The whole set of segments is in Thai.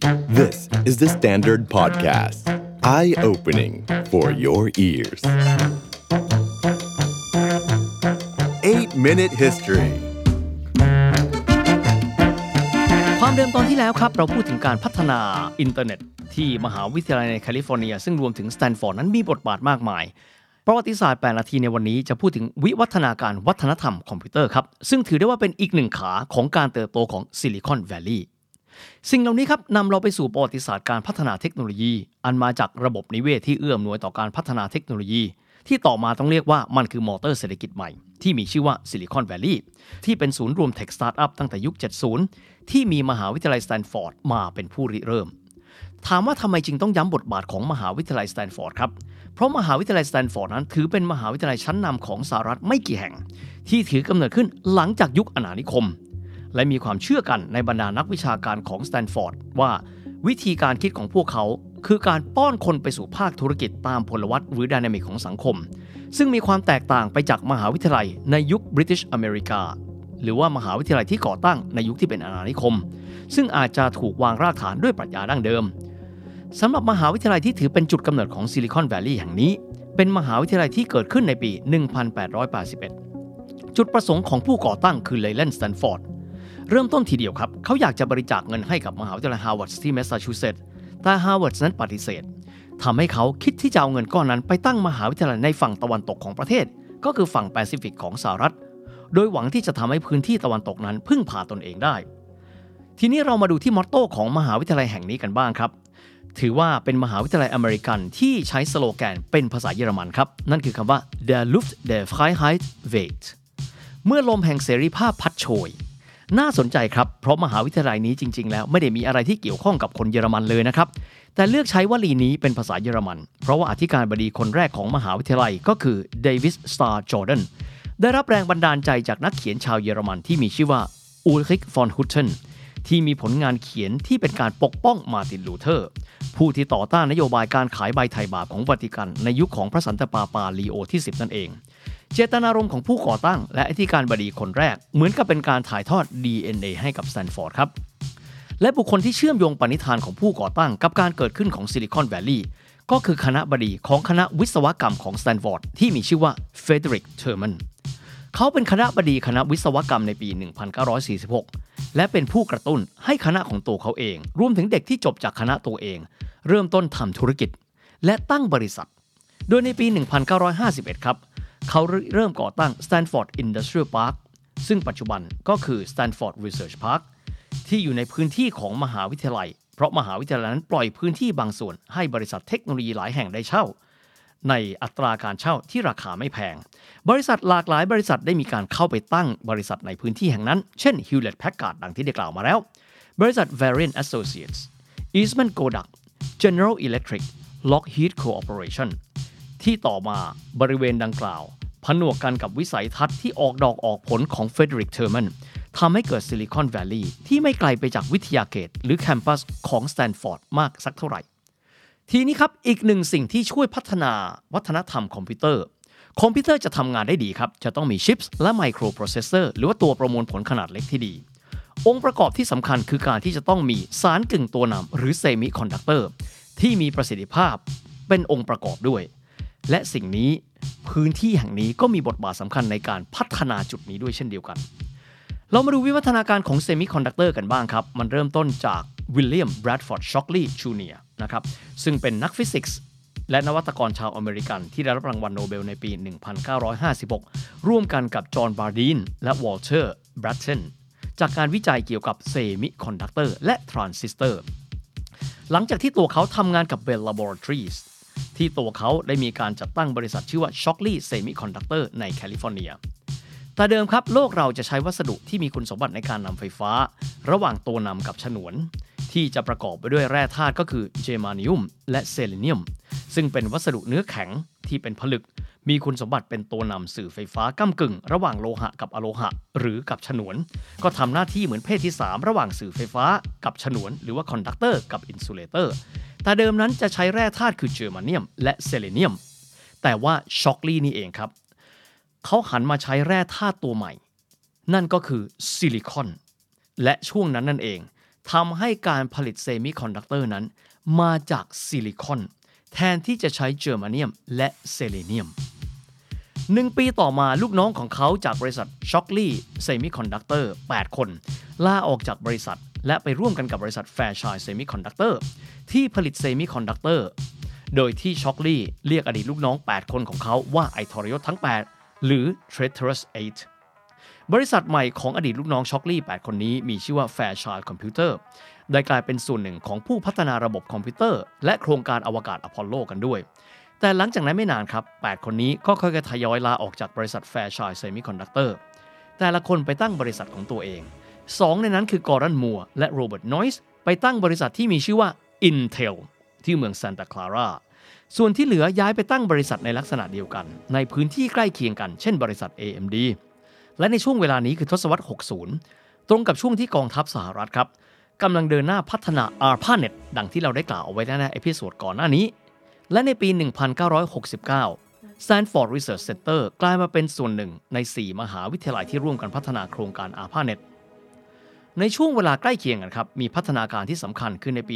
This is the Standard Podcast. Eye-opening for your ears. 8-Minute History ความเดิมตอนที่แล้วครับเราพูดถึงการพัฒนาอินเทอร์เน็ตที่มหาวิทยาลัยในแคลิฟอร์เนียซึ่งรวมถึงสแตนฟอร์ดนั้นมีบทบาทมากมายประวัติศาสตร์8นาทีในวันนี้จะพูดถึงวิวัฒนาการวัฒนธรรมคอมพิวเตอร์ครับซึ่งถือได้ว่าเป็นอีกหนึ่งขาของการเติบโตของซิลิคอนแวลลีย์สิ่งเหล่านี้ครับนำเราไปสู่ประวัติศาสตร์การพัฒนาเทคโนโลยีอันมาจากระบบนิเวศที่เอื้ออำนวยต่อการพัฒนาเทคโนโลยีที่ต่อมาต้องเรียกว่ามันคือมอเตอร์เศรษฐกิจใหม่ที่มีชื่อว่าซิลิคอนแวลลีย์ที่เป็นศูนย์รวมเทคสตาร์ทอัพตั้งแต่ยุค 70 ที่มีมหาวิทยาลัยสแตนฟอร์ดมาเป็นผู้ริเริ่มถามว่าทำไมจึงต้องย้ำบทบาทของมหาวิทยาลัยสแตนฟอร์ดครับเพราะมหาวิทยาลัยสแตนฟอร์ดนั้นถือเป็นมหาวิทยาลัยชั้นนำของสหรัฐไม่กี่แห่งที่ถือกำเนิดขึ้นหลังจากยุคอาณานิคมและมีความเชื่อกันในบรรดานักวิชาการของสแตนฟอร์ดว่าวิธีการคิดของพวกเขาคือการป้อนคนไปสู่ภาคธุรกิจตามพลวัตหรือไดนามิกของสังคมซึ่งมีความแตกต่างไปจากมหาวิทยาลัยในยุคบริติชอเมริกาหรือว่ามหาวิทยาลัยที่ก่อตั้งในยุคที่เป็นอาณานิคมซึ่งอาจจะถูกวางรากฐานด้วยปรัชญาดั้งเดิมสำหรับมหาวิทยาลัยที่ถือเป็นจุดกำเนิดของซิลิคอนแวลลีย์แห่งนี้เป็นมหาวิทยาลัยที่เกิดขึ้นในปี 1881 จุดประสงค์ของผู้ก่อตั้งคือเลแลนด์ สแตนฟอร์ดเริ่มต้นทีเดียวครับเขาอยากจะบริจาคเงินให้กับมหาวิทยาลัยฮาร์วาร์ดที่แมสซาชูเซตส์แต่ฮาร์วาร์ดนั้นปฏิเสธทำให้เขาคิดที่จะเอาเงินก้อนนั้นไปตั้งมหาวิทยาลัยในฝั่งตะวันตกของประเทศก็คือฝั่งแปซิฟิกของสหรัฐโดยหวังที่จะทำให้พื้นที่ตะวันตกนั้นพึ่งพาตนเองได้ทีนี้เรามาดูที่มอตโต้ของมหาวิทยาลัยแห่งนี้กันบ้างครับถือว่าเป็นมหาวิทยาลัยอเมริกันที่ใช้สโลแกนเป็นภาษาเยอรมันครับนั่นคือคำว่า Der Luft der Freiheit weht เมื่อลมแห่งเสรีภาพพัดโชยน่าสนใจครับเพราะมหาวิทยาลัยนี้จริงๆแล้วไม่ได้มีอะไรที่เกี่ยวข้องกับคนเยอรมันเลยนะครับแต่เลือกใช้วลีนี้เป็นภาษาเยอรมันเพราะว่าอธิการบดีคนแรกของมหาวิทยาลัยก็คือเดวิส สตาร์ จอร์แดนได้รับแรงบันดาลใจจากนักเขียนชาวเยอรมันที่มีชื่อว่าอูลริก ฟอน ฮุตเทนที่มีผลงานเขียนที่เป็นการปกป้องมาร์ติน ลูเทอร์ผู้ที่ต่อต้านนโยบายการขายใบไถ่บาปของวาติกันในยุคของพระสันตะปาปาลีโอที่ 10 นั่นเองเจตนารมณ์ของผู้ก่อตั้งและอธิการบดีคนแรกเหมือนกับเป็นการถ่ายทอด DNA ให้กับสแตนฟอร์ดครับและบุคคลที่เชื่อมโยงปณิธานของผู้ก่อตั้งกับการเกิดขึ้นของซิลิคอนแวลลีย์ก็คือคณะบดีของคณะวิศวกรรมของสแตนฟอร์ดที่มีชื่อว่าเฟเดริก เทอร์แมนเขาเป็นคณะบดีคณะวิศวกรรมในปี 1946 และเป็นผู้กระตุ้นให้คณะของตัวเขาเองรวมถึงเด็กที่จบจากคณะตัวเองเริ่มต้นทำธุรกิจและตั้งบริษัทโดยในปี 1951 ครับเขาเริ่มก่อตั้ง Stanford Industrial Park ซึ่งปัจจุบันก็คือ Stanford Research Park ที่อยู่ในพื้นที่ของมหาวิทยาลัยเพราะมหาวิทยาลัยนั้นปล่อยพื้นที่บางส่วนให้บริษัทเทคโนโลยีหลายแห่งได้เช่าในอัตราการเช่าที่ราคาไม่แพงบริษัทหลากหลายบริษัทได้มีการเข้าไปตั้งบริษัทในพื้นที่แห่งนั้นเช่น Hewlett Packard ดังที่ได้กล่าวมาแล้วบริษัท Varian Associates Eastman Kodak General Electric Lockheed Corporation ที่ต่อมาบริเวณดังกล่าวผนวกกันกับวิสัยทัศน์ที่ออกดอกออกผลของเฟเดริก เทอร์แมนทำให้เกิดซิลิคอนแวลลีย์ที่ไม่ไกลไปจากวิทยาเขตหรือแคมปัสของสแตนฟอร์ดมากสักเท่าไหร่ทีนี้ครับอีกหนึ่งสิ่งที่ช่วยพัฒนาวัฒนธรรมคอมพิวเตอร์จะทำงานได้ดีครับจะต้องมีชิปส์และไมโครโปรเซสเซอร์หรือว่าตัวประมวลผลขนาดเล็กที่ดีองค์ประกอบที่สำคัญคือการที่จะต้องมีสารกึ่งตัวนำหรือเซมิคอนดักเตอร์ที่มีประสิทธิภาพเป็นองค์ประกอบด้วยและสิ่งนี้พื้นที่แห่งนี้ก็มีบทบาทสำคัญในการพัฒนาจุดนี้ด้วยเช่นเดียวกันเรามาดูวิวัฒนาการของเซมิคอนดักเตอร์กันบ้างครับมันเริ่มต้นจากวิลเลียม แบรดฟอร์ด ช็อกลีย์ จูเนียร์นะครับซึ่งเป็นนักฟิสิกส์และนวัตกรชาวอเมริกันที่ได้รับรางวัลโนเบลในปี 1956 ร่วมกันกับจอห์น บาร์ดีนและวอลเตอร์ แบรตเทนจากการวิจัยเกี่ยวกับเซมิคอนดักเตอร์และทรานซิสเตอร์หลังจากที่ตัวเขาทำงานกับ Bell Laboratories ที่ตัวเขาได้มีการจัดตั้งบริษัทชื่อว่า Shockley Semiconductor ในแคลิฟอร์เนียแต่เดิมครับโลกเราจะใช้วัสดุที่มีคุณสมบัติในการนำไฟฟ้าระหว่างตัวนำกับฉนวนที่จะประกอบไปด้วยแร่ธาตุก็คือเจมานิอุมและเซเลเนียมซึ่งเป็นวัสดุเนื้อแข็งที่เป็นผลึกมีคุณสมบัติเป็นตัวนำสื่อไฟฟ้าก้ำกึ่งระหว่างโลหะกับอะโลหะหรือกับฉนวนก็ทำหน้าที่เหมือนเพศที่3ระหว่างสื่อไฟฟ้ากับฉนวนหรือว่าคอนดักเตอร์กับอินซูเลเตอร์แต่เดิมนั้นจะใช้แร่ธาตุคือเจอร์มาเนียมและเซเลเนียมแต่ว่าช็อกลีย์นี่เองครับเขาหันมาใช้แร่ธาตุตัวใหม่นั่นก็คือซิลิคอนและช่วงนั้นนั่นเองทำให้การผลิตเซมิคอนดักเตอร์นั้นมาจากซิลิคอนแทนที่จะใช้เจอร์มาเนียมและเซเลเนียม1 ปีต่อมาลูกน้องของเขาจากบริษัท Shockley Semiconductor 8 คนลาออกจากบริษัทและไปร่วมกันกับบริษัท Fairchild Semiconductor ที่ผลิตเซมิคอนดักเตอร์โดยที่ Shockley เรียกอดีตลูกน้อง 8 คนของเขาว่าไอ้ทรยศทั้ง 8 หรือ Traitorous 8 บริษัทใหม่ของอดีตลูกน้อง Shockley 8 คนนี้มีชื่อว่า Fairchild Computer ได้กลายเป็นส่วนหนึ่งของผู้พัฒนาระบบคอมพิวเตอร์และโครงการอวกาศอพอลโลกันด้วยแต่หลังจากนั้นไม่นานครับ8 คนนี้ก็ค่อยๆทยอยลาออกจากบริษัท Fairchild Semiconductor แต่ละคนไปตั้งบริษัทของตัวเอง2ในนั้นคือกอร์ดอน มัวร์และโรเบิร์ต นอยส์ไปตั้งบริษัทที่มีชื่อว่า Intel ที่เมืองซานตาคลาราส่วนที่เหลือย้ายไปตั้งบริษัทในลักษณะเดียวกันในพื้นที่ใกล้เคียงกันเช่นบริษัท AMD และในช่วงเวลานี้คือทศวรรษ 60 ตรงกับช่วงที่กองทัพสหรัฐครับกำลังเดินหน้าพัฒนา ARPANET ดังที่เราได้กล่าวเอาไว้ในเอพิโซดก่อนหน้านี้และในปี 1969 Stanford Research Center กลายมาเป็นส่วนหนึ่งใน 4 มหาวิทยาลัยที่ร่วมกันพัฒนาโครงการ ARPANET ในช่วงเวลาใกล้เคียงกันครับมีพัฒนาการที่สำคัญคือในปี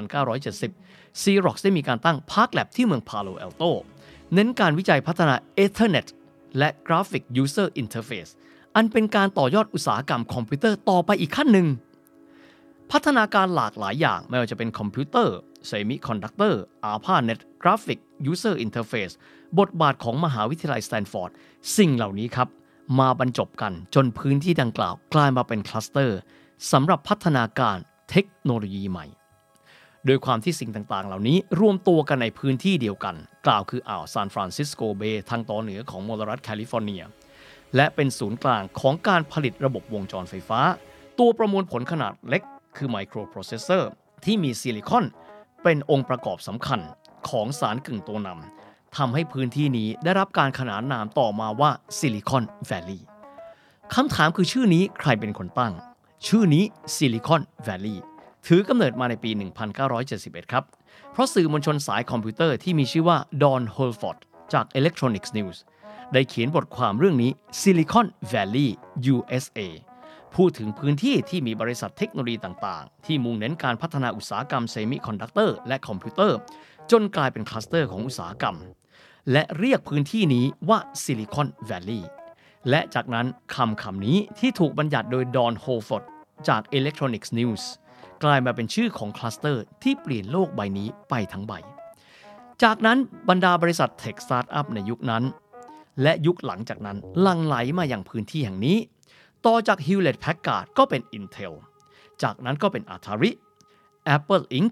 1970 Xerox ได้มีการตั้ง Park Lab ที่เมือง Palo Alto เน้นการวิจัยพัฒนา Ethernet และ Graphic User Interface อันเป็นการต่อยอดอุตสาหกรรมคอมพิวเตอร์ต่อไปอีกขั้นหนึ่งพัฒนาการหลากหลายอย่างไม่ว่าจะเป็นคอมพิวเตอร์ Semiconductor, ARPANET, Graphic User Interface บทบาทของมหาวิทยาลัยสแตนฟอร์ดสิ่งเหล่านี้ครับมาบรรจบกันจนพื้นที่ดังกล่าวกลายมาเป็นคลัสเตอร์สำหรับพัฒนาการเทคโนโลยีใหม่โดยความที่สิ่งต่างๆเหล่านี้รวมตัวกันในพื้นที่เดียวกันกล่าวคืออ่าวซานฟรานซิสโกเบย์ทางตอนเหนือของมลรัฐแคลิฟอร์เนียและเป็นศูนย์กลางของการผลิตระบบวงจรไฟฟ้าตัวประมวลผลขนาดเล็กคือไมโครโปรเซสเซอร์ที่มีซิลิคอนเป็นองค์ประกอบสำคัญของสารกึ่งตัวนำทำให้พื้นที่นี้ได้รับการขนานนามต่อมาว่าซิลิคอนแวลลีย์คำถามคือชื่อนี้ใครเป็นคนตั้งชื่อนี้ซิลิคอนแวลลีย์ถือกำเนิดมาในปี 1971 ครับเพราะสื่อมวลชนสายคอมพิวเตอร์ที่มีชื่อว่าดอน โฮลฟอร์ดจาก Electronics News ได้เขียนบทความเรื่องนี้ Silicon Valley USA พูดถึงพื้นที่ที่มีบริษัทเทคโนโลยีต่างๆที่มุ่งเน้นการพัฒนาอุตสาหกรรมเซมิคอนดักเตอร์และคอมพิวเตอร์จนกลายเป็นคลัสเตอร์ของอุตสาหกรรมและเรียกพื้นที่นี้ว่า Silicon Valley และจากนั้นคำนี้ที่ถูกบัญญัติโดยดอน โฮลฟอร์ดจาก Electronics News กลายมาเป็นชื่อของคลัสเตอร์ที่เปลี่ยนโลกใบนี้ไปทั้งใบจากนั้นบรรดาบริษัทเทคสตาร์ทอัพในยุคนั้นและยุคหลังจากนั้นหลั่งไหลมาอย่างพื้นที่แห่งนี้ต่อจาก Hewlett Packard ก็เป็น Intel จากนั้นก็เป็น Atari Apple Inc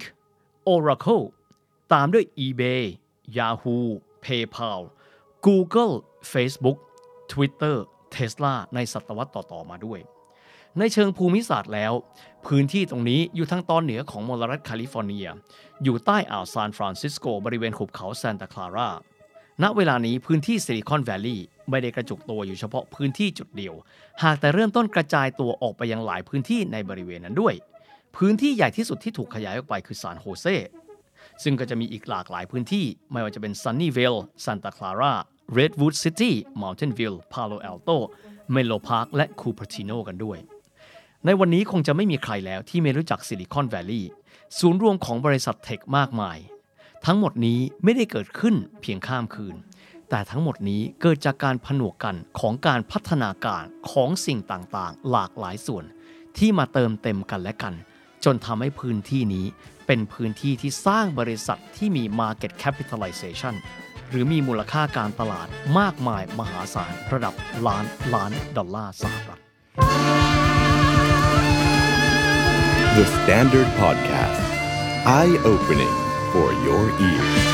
Oracle ตามด้วย eBay Yahoo PayPal Google Facebook Twitter Tesla ในศตวรรษต่อๆมาด้วยในเชิงภูมิศาสตร์แล้วพื้นที่ตรงนี้อยู่ทางตอนเหนือของมลรัฐแคลิฟอร์เนียอยู่ใต้อ่าวซานฟรานซิสโกบริเวณหุบเขาซานตาคลาราณเวลานี้พื้นที่ซิลิคอนแวลลีย์ไม่ได้กระจุกตัวอยู่เฉพาะพื้นที่จุดเดียวหากแต่เริ่มต้นกระจายตัวออกไปยังหลายพื้นที่ในบริเวณนั้นด้วยพื้นที่ใหญ่ที่สุดที่ถูกขยายออกไปคือซานโฮเซซึ่งก็จะมีอีกหลากหลายพื้นที่ไม่ว่าจะเป็นซันนี่วิลล์ซานตาคลาราเรดวูดซิตี้มัลตันวิลล์พาโลแอลโตเมโลพาร์คและคูเปอร์ติโนกันด้วยในวันนี้คงจะไม่มีใครแล้วที่ไม่รู้จักซิลิคอนแวลลีย์ศูนย์รวมของบริษัทเทคมากมายทั้งหมดนี้ไม่ได้เกิดขึ้นเพียงข้ามคืนแต่ทั้งหมดนี้เกิดจากการผนวกกันของการพัฒนาการของสิ่งต่างๆหลากหลายส่วนที่มาเติมเต็มกันและกันจนทำให้พื้นที่นี้เป็นพื้นที่ที่สร้างบริษัทที่มี Market Capitalization หรือมีมูลค่าการตลาดมากมายมหาศาลระดับล้านดอลลาร์สหรัฐ The Standard Podcast Eye Opening for your ears